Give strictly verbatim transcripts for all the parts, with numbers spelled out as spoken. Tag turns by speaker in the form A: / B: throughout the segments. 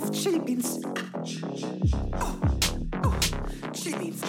A: auf Chili Beans. Oh, oh, Chili Beans.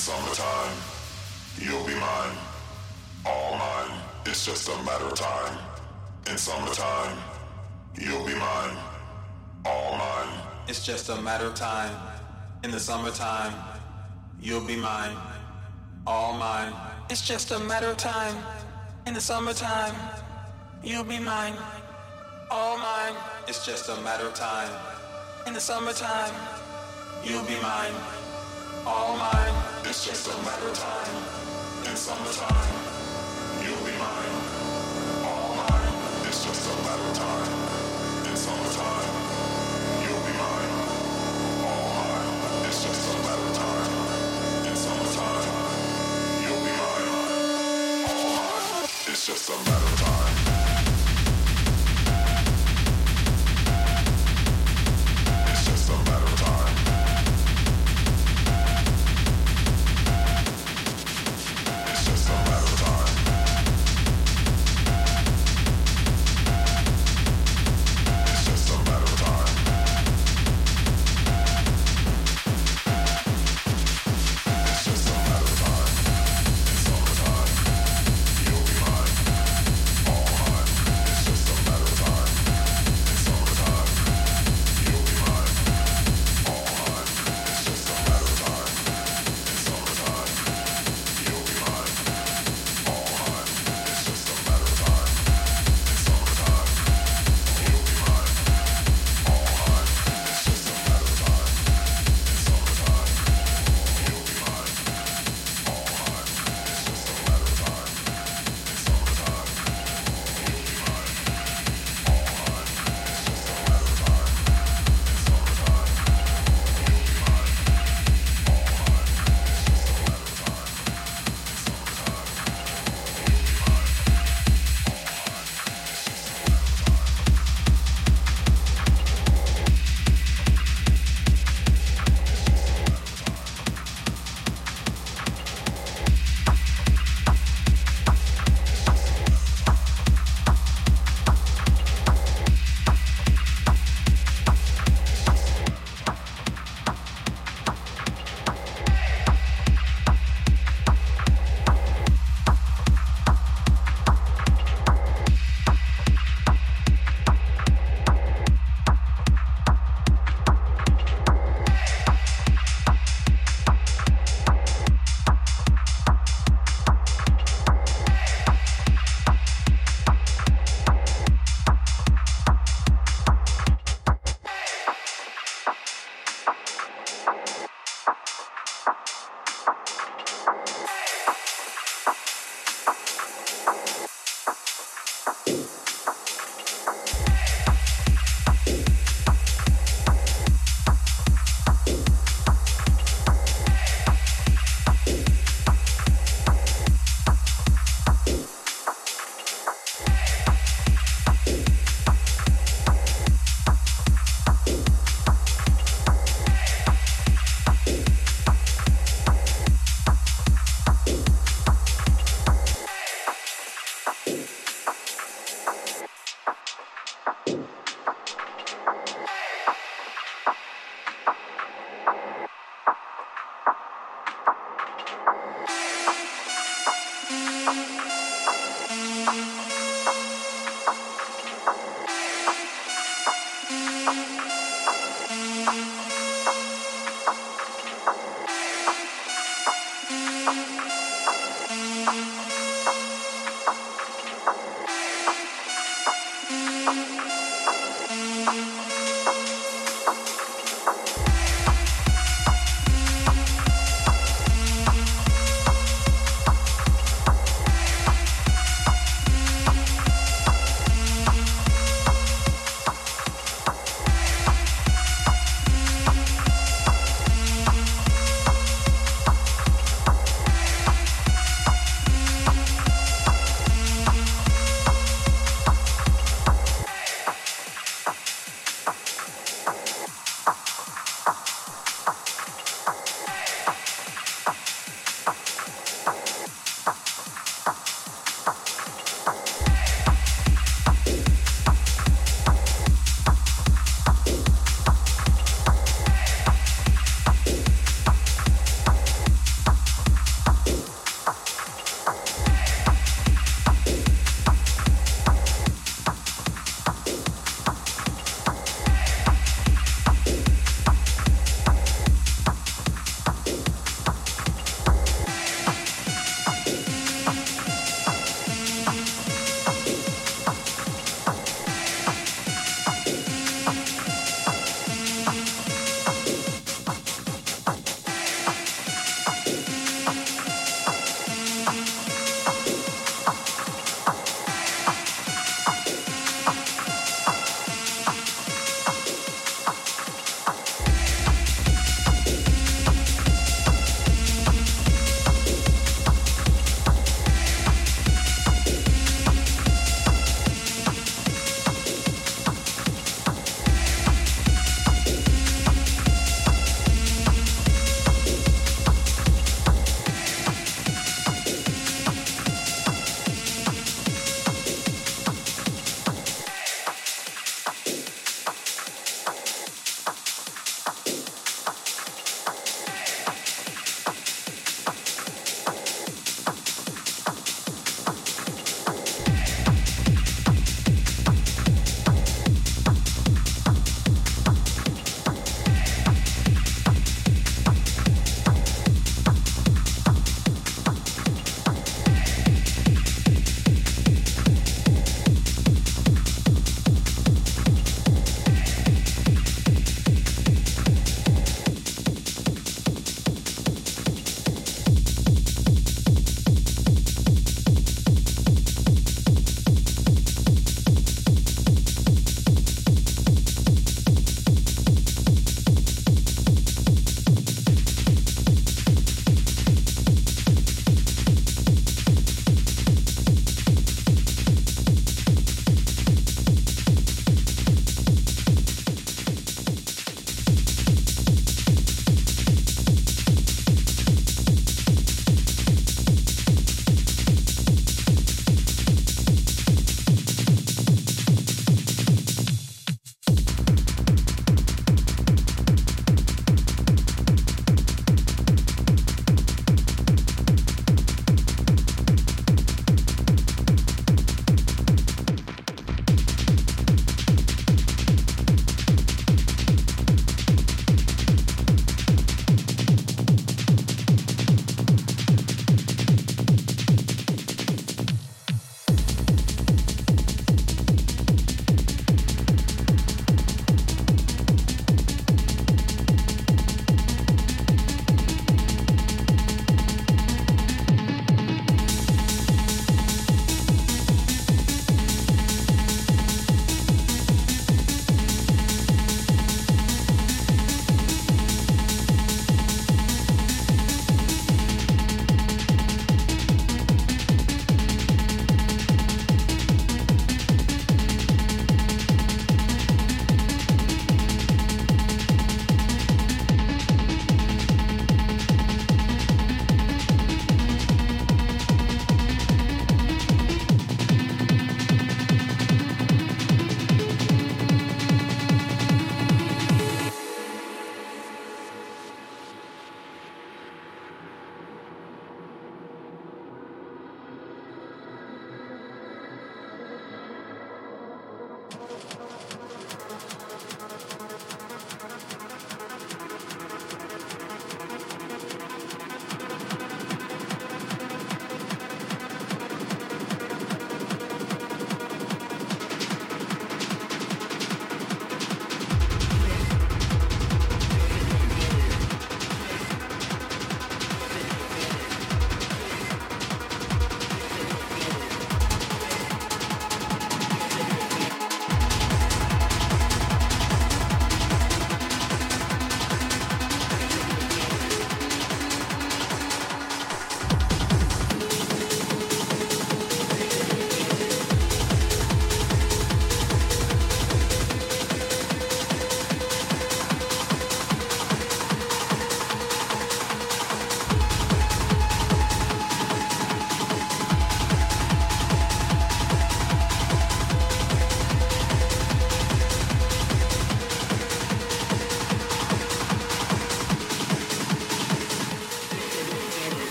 B: summertime, you'll be mine, all mine. It's just a matter of time. In summertime, you'll be mine, all mine.
A: It's just a matter of time. In the summertime, you'll be mine, all mine. It's just a matter of time. In the summertime, you'll be mine, all mine. It's just a matter of time. In the summertime, you'll be mine, all mine.
B: It's just a matter of time. In summertime, you'll be mine, all mine. It's just a matter of time. In summertime, you'll be mine, all mine. It's just a matter of time. In summertime, you'll be mine, all mine. It's just a matter of time. It's just a matter of time. It's just a matter of time. It's just a matter of time. It's just a matter of time. In summertime, you'll be mine, all mine. It's just a matter of time. In summertime, you'll be mine, all mine. It's just a matter of time. In summertime, you'll be mine, all mine. It's just a matter of time. In summertime, you'll be mine, all mine. It's just a matter of time. In summertime, you'll be mine, all mine. It's just a matter of time. In summertime, you'll be mine, all mine. It's just a matter of time. In summertime, you'll be mine, all mine. It's just a matter of time. In summertime, you'll be mine, all mine. It's just a matter of time.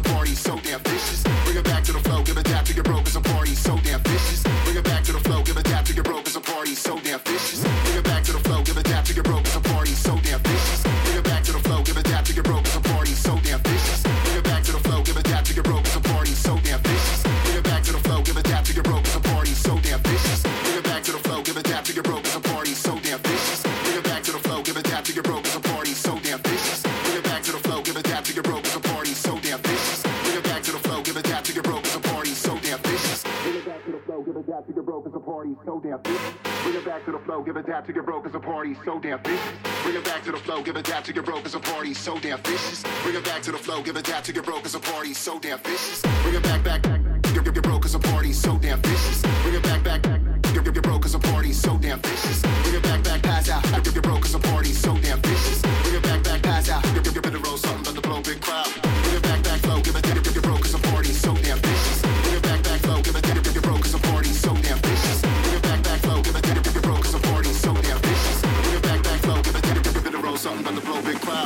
B: party so damn vicious. Bring it back to the flow, give it tap to get broke as a party so damn vicious. Bring it back to the flow, give it tap to get broke as a party so damn vicious. Bring it back to the flow, give it tap to get broke as a party so damn vicious. Bring it back to the flow, give it tap to get broke as a party so damn vicious. Bring it back to the flow, give it tap to get broke as a party so damn vicious. Bring it back to the flow, give it tap to get broke as a party so damn vicious. Bring it back to the flow, give it tap to get broke as a party so damn vicious. Bring it back to the flow, give it tap to get broke as a party so damn vicious. Bring it back to the flow, give it tap to get broke as a party so damn vicious. Bring it back to the flow, give it tap to get broke as a party so damn vicious. Bring it back to the flow, give it tap to get broke as a party so damn vicious. Bring it back to the flow, give it tap to get broke as a party so damn vicious. Bring it back to the flow, give it tap to get broke as a party so damn vicious. Bring it back to the flow, give it tap to get broke as a party so damn vicious. Bring it back, back, back, get, get, get broke as a party so damn vicious. Bring it back, back, back, get, get, get broke as a party so damn vicious. Bring it back, back, pass out, get, get broke as a party so damn vicious. Bring it back, back, pass out, get, get, get rid of roll something but the blow big crowd. Bring it back, back, flow, give it, get, get, get broke as a party so damn vicious. Bring it back, back, flow, give it, get, get, get broke as a party so damn vicious. Bring it back, back, flow, give it, get, get, get broke as a party so damn vicious. Bring it back, back, flow, give it, get, get, get rid of roll something but the blow big crowd.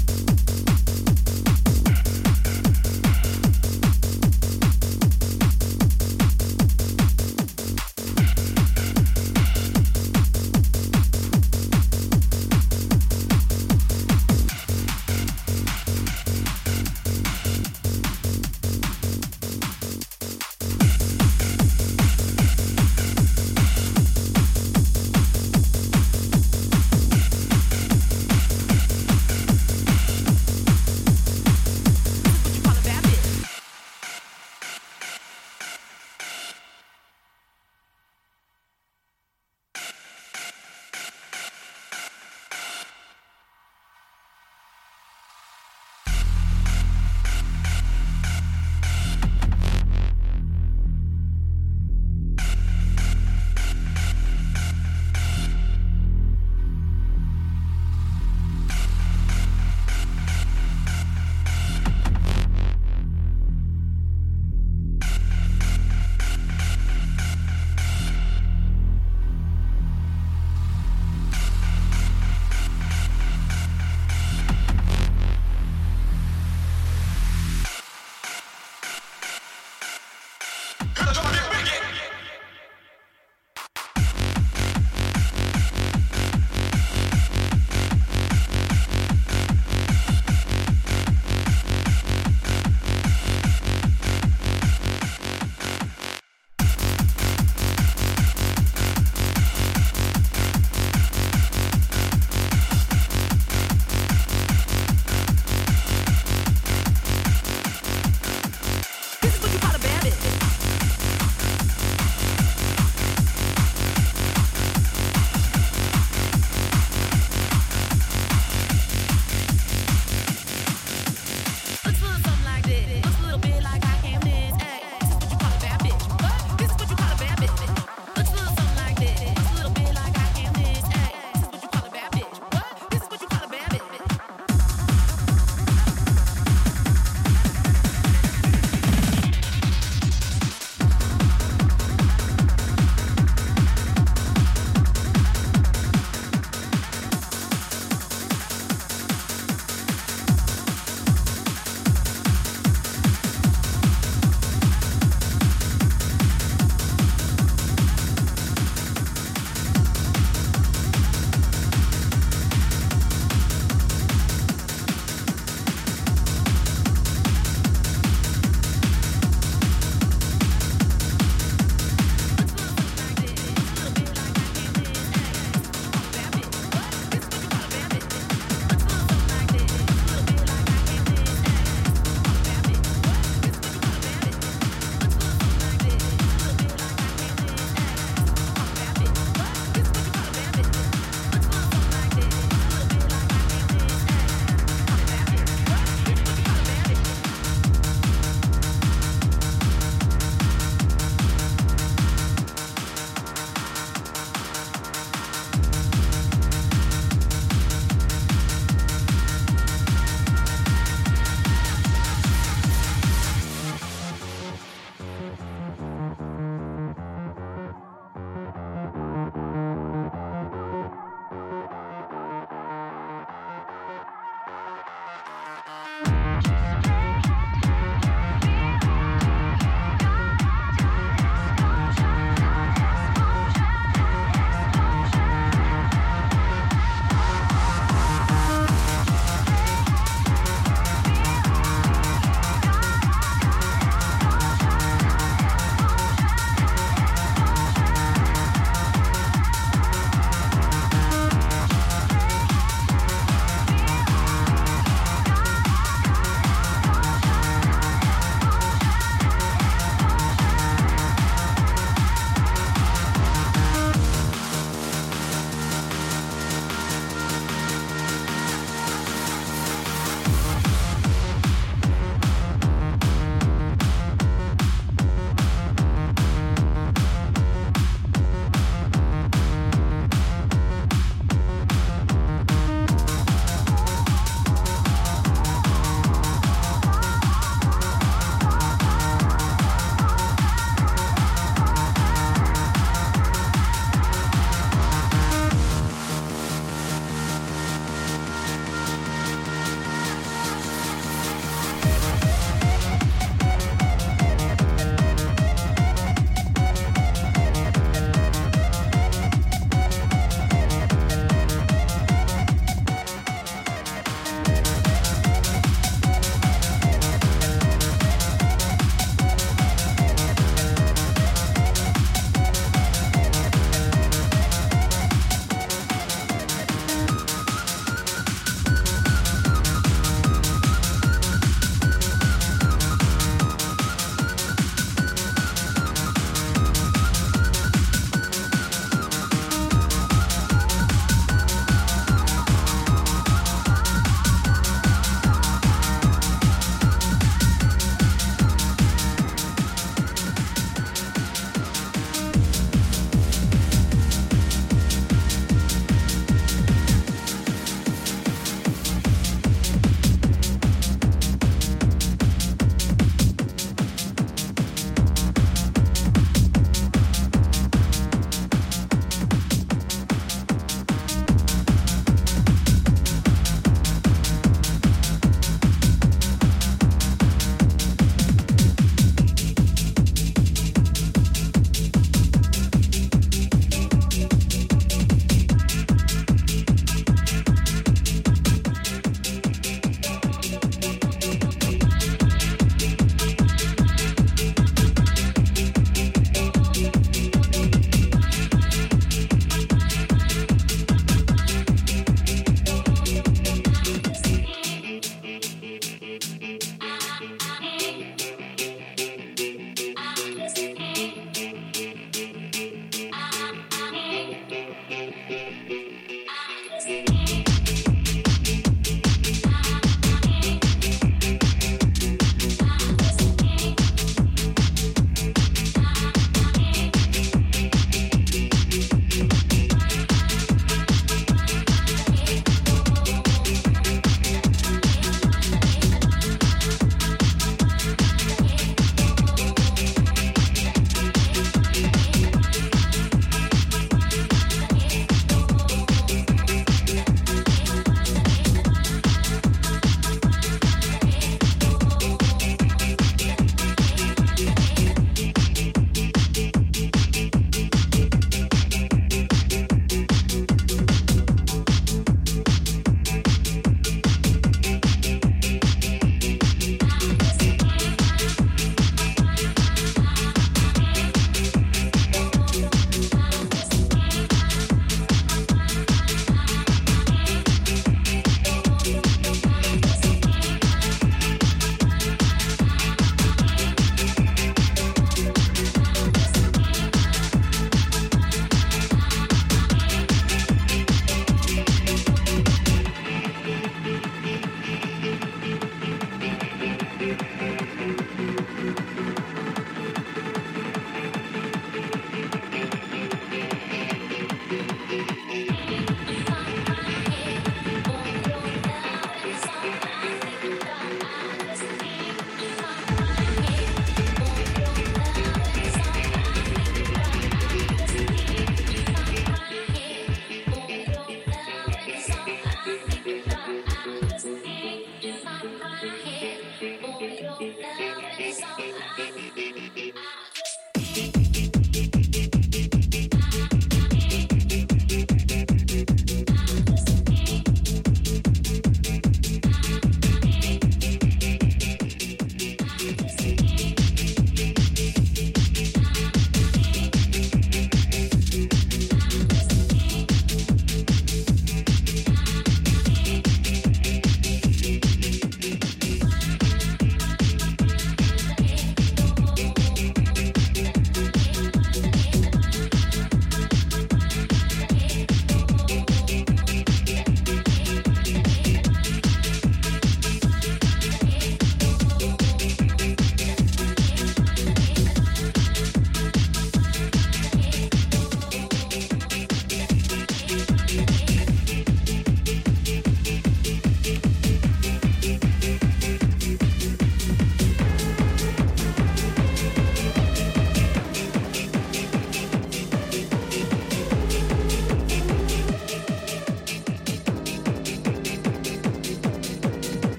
C: We'll be right back.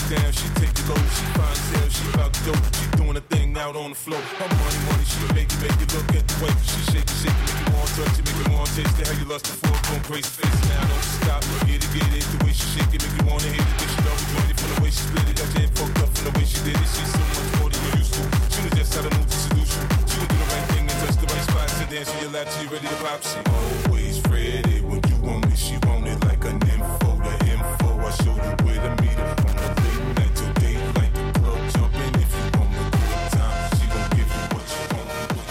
C: down, she take it low. She fine as hell, she bout dope. She doing a thing out on the floor. Her money, money, she make it, make it look at the way she shake it, shake it, make you want to touch it, make you want to taste it. How you lust for it, going crazy face now, don't stop. Get it, get it, the way she shake it, make you want to hit it. But she double jointed from the way she split it. Got your head fucked up from the way she did it. She's so much more than you used to. She was just how to move to seduce you. She would do the right thing and touch the right spots and dance on your lap till you ready to pop. She always ready when you want it. She want it like an info, the info. I show you where to meet her on the late night till daylight. The club jumping if you want a good time. She gon' give you what you want.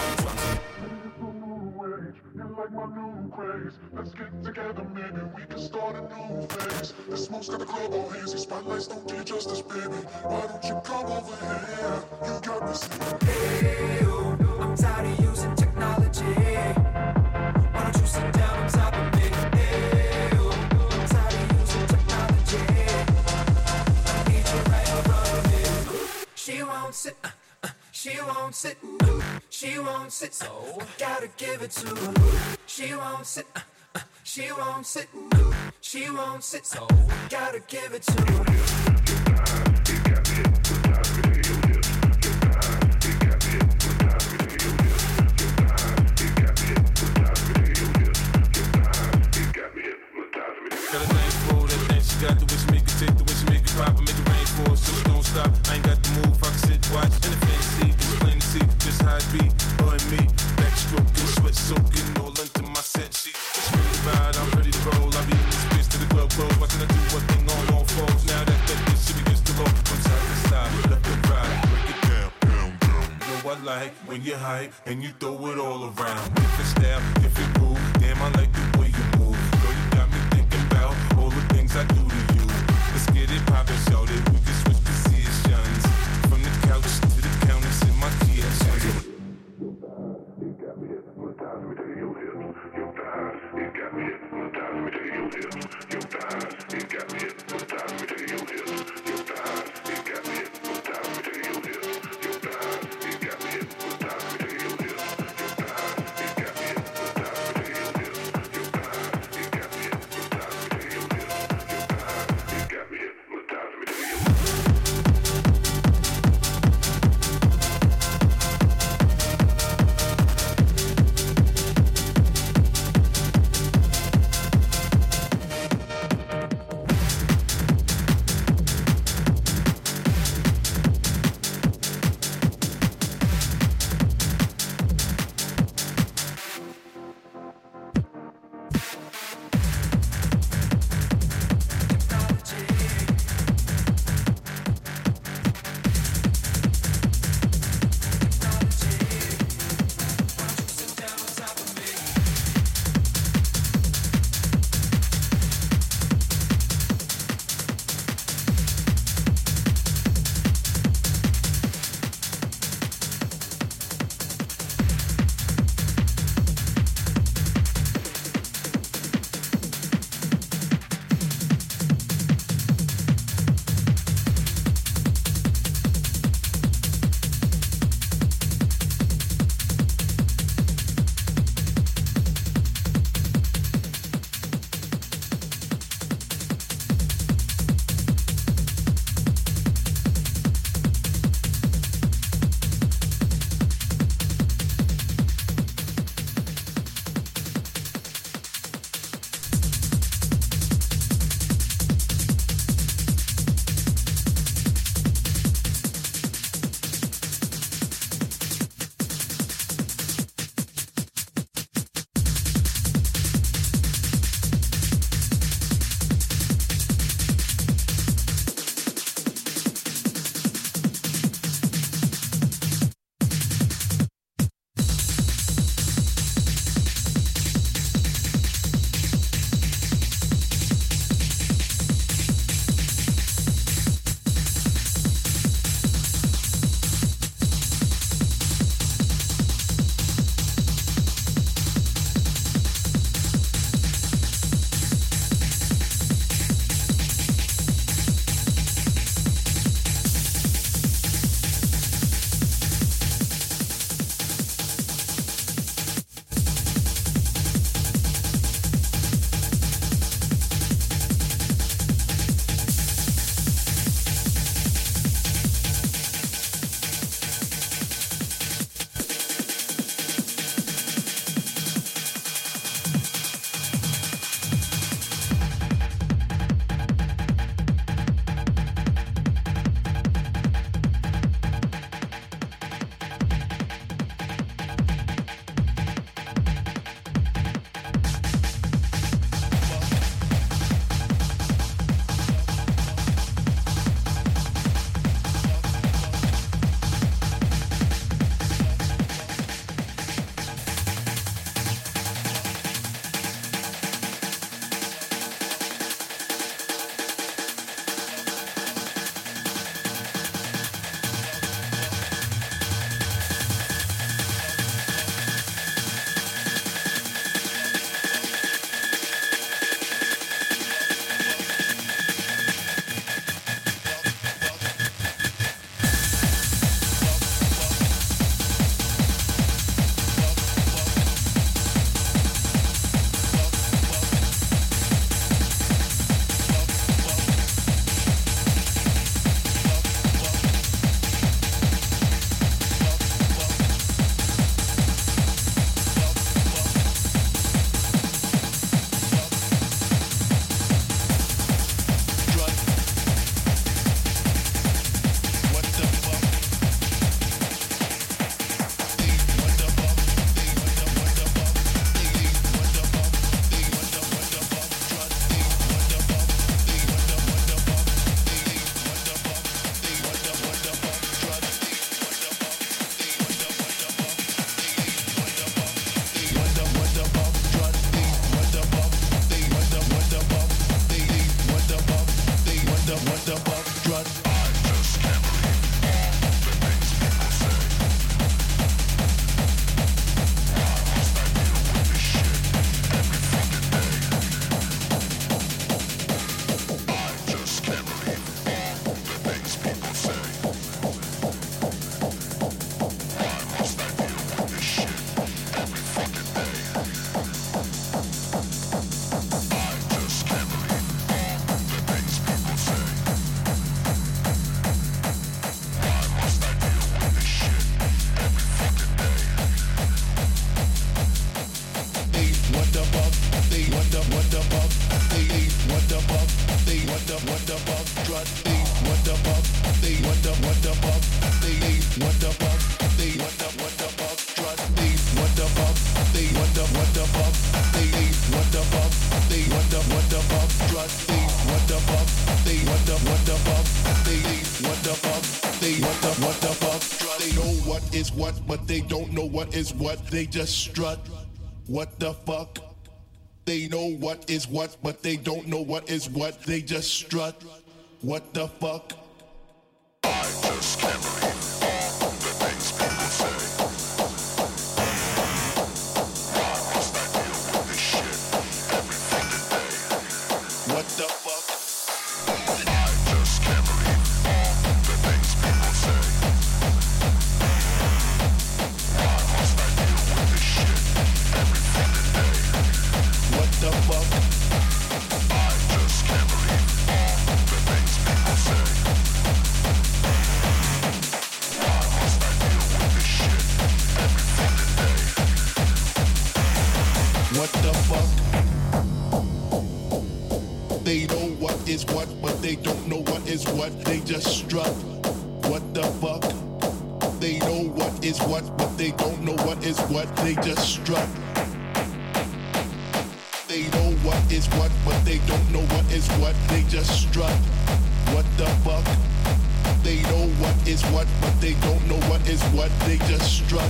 B: You like my new craze. Let's get together, maybe we can start a new phase. The smoke's got the club all hazy. Spotlights don't do you justice, baby. Why don't you come over here? You got me singing.
D: Hey, oh, I'm tired of using technology. Why don't you sit down on top of me? Hey, oh, I'm tired of using technology. I need you right in front of me. She won't sit. Uh, uh, she won't sit. Uh, she won't sit. So I gotta give it to her. She won't sit. Uh, uh, she won't sit. Uh, she won't sit. So I gotta give it to her.
C: Got a thing for that thing she got, the way she make it take, the way she make it pop and make it rain for us, so she don't stop. I ain't got the move, I can sit, watch, in the fantasy, it's plain to see just how it be, her and me. Backstroking, sweat soaking, all into my set sheet. It's really bad, I'm ready to roll. I be in this bitch to the club close, watching her do what thing on all fours. Now that that bitch she begins to roll from side to side, left and right, break it down, down, down. You know I like when you hype and you throw it all around. If it's style, if it move, damn I like the way you move. Girl, you got me thinking about all the things I do to you. Let's get it poppin', shout it. We can switch positions from the couch to the counters in my kitchen.
B: You got me hypnotized me to your hips. Your thighs, you got me hypnotized me to your hips. Your thighs, you got me hypnotized me to your hips. Your thighs, you got me hypnotized me to your hips. Your thighs, you got me hypnotized me to your hips. Your thighs, you got me hypnotized me to your hips. Your thighs, you got me hypnotized me to your hips. Your thighs, you got me hypnotized me to your hips. They what the what the fuck? They what the fuck? They what the what the fuck? Strut. They what the fuck? They what the what the fuck? They what the fuck? They what the what the fuck? They know what is what, but they don't know what is what. They just strut. What the fuck? They know what is what, but they don't know what is what. They just strut. What the fuck?
E: I just can't believe all the things people say. Why must I deal with this shit every fucking day?
B: What the fuck?
E: I just can't believe all the things people say. Why must I deal with this shit every fucking day?
B: What the fuck?
E: I just can't believe all the things people say. Why must I deal with this shit every fucking day?
B: What the fuck? They know what is what, but they don't know what is what. They just strut. What the fuck? They know what is what, but they don't know what is what. They just strut. They know what is what, but they don't know what is what. They just strut. What the fuck? They know what is what, but they don't know what is what. They just strut.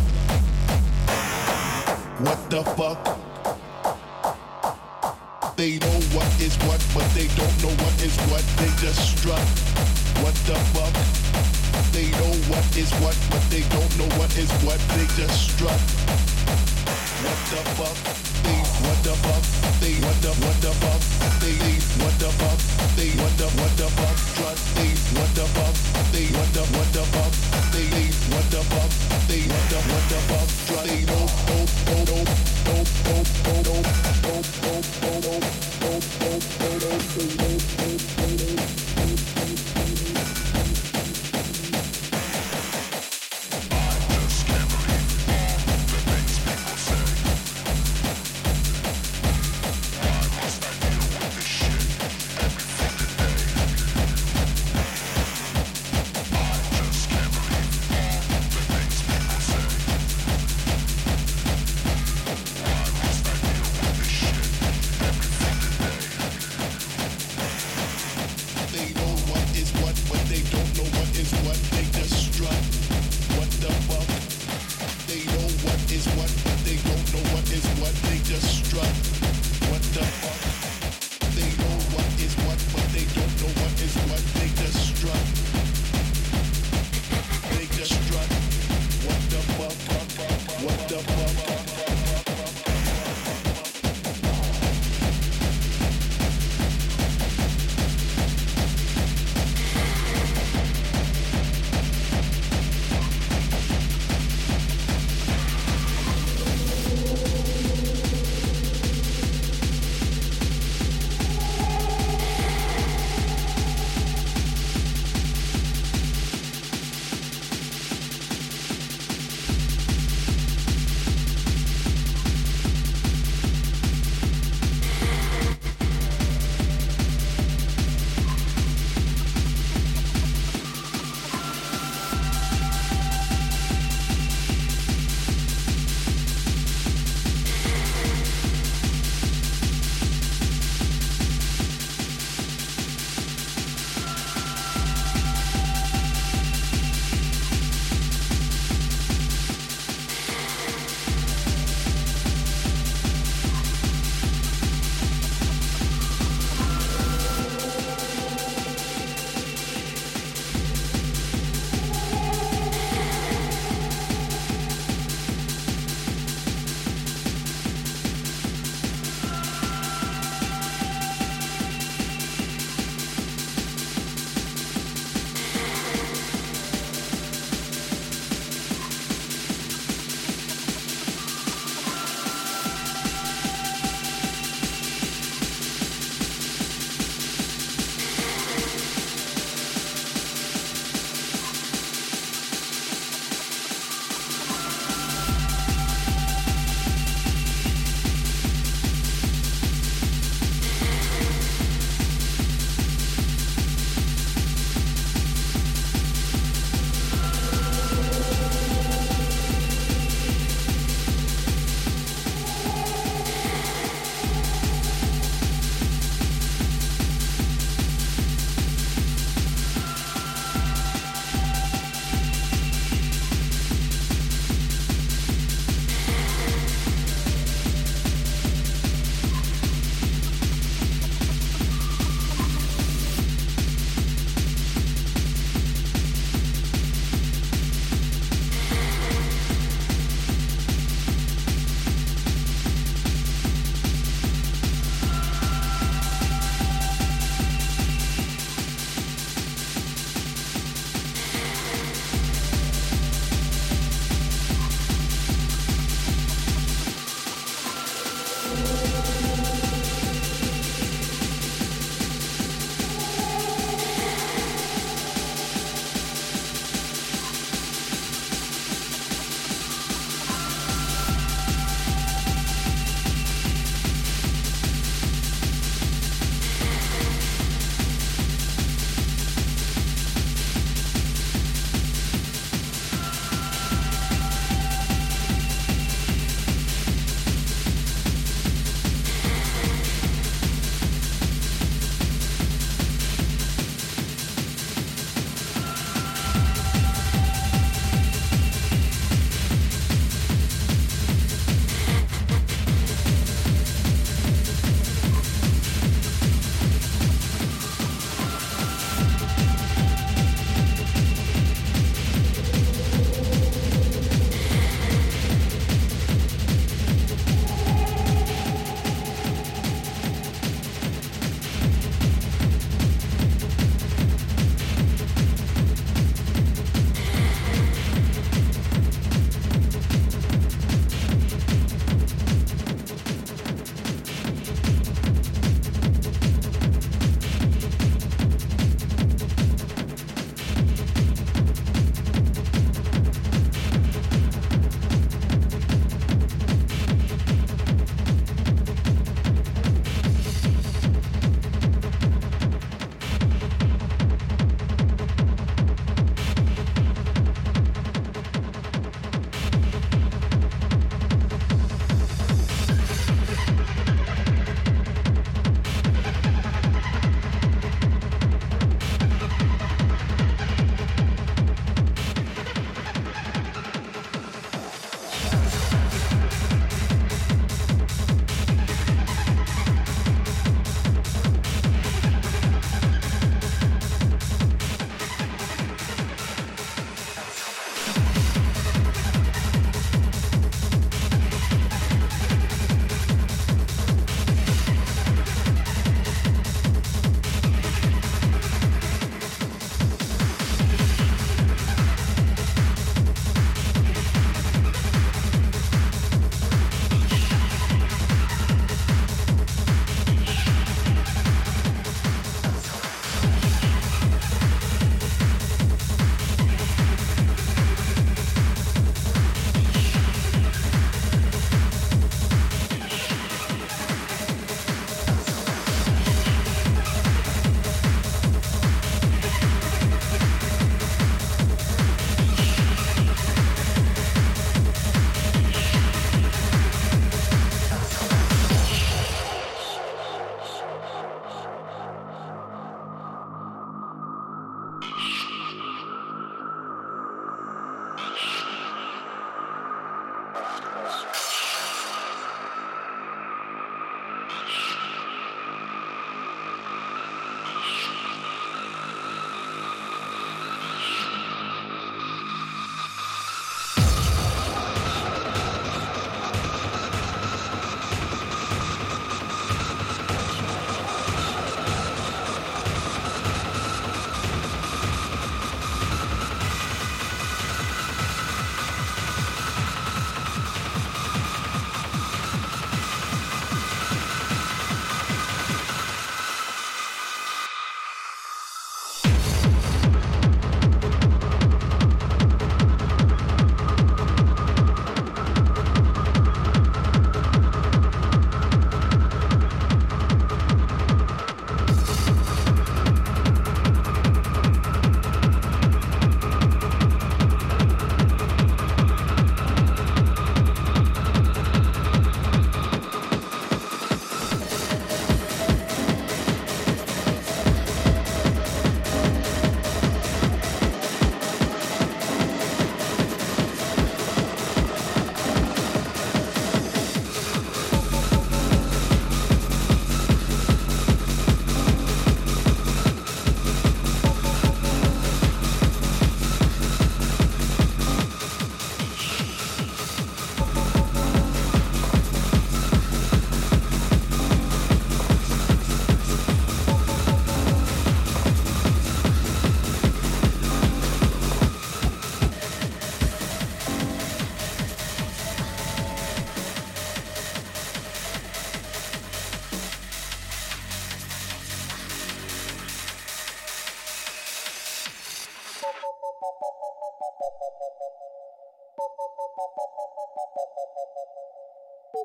B: What the fuck? They know what is what, but they don't know what is what. They just strut. What the fuck? They know what is what, but they don't know what is what. They just strut. What the fuck? They what the fuck? They what the what the fuck? They what the fuck? They what the what the fuck? Strut. They what the fuck? They what the what the fuck? They what the fuck? They what the what the fuck? Strut. They no no no no no no no no no no no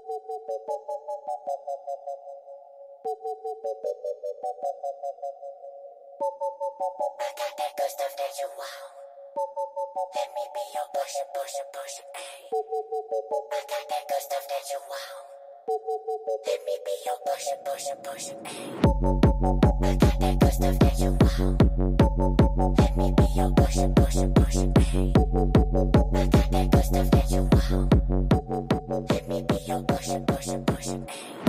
F: I got that good stuff that you want. Let me be your pusher, pusher, pusher, ayy. I got that good stuff that you want. Let me be your pusher, pusher, pusher, ayy. I got that good stuff that you want. Let me be your pusher, pusher, pusher, ayy. I got that good stuff that you want. Let me be your pusher, pusher, pusher, ayy.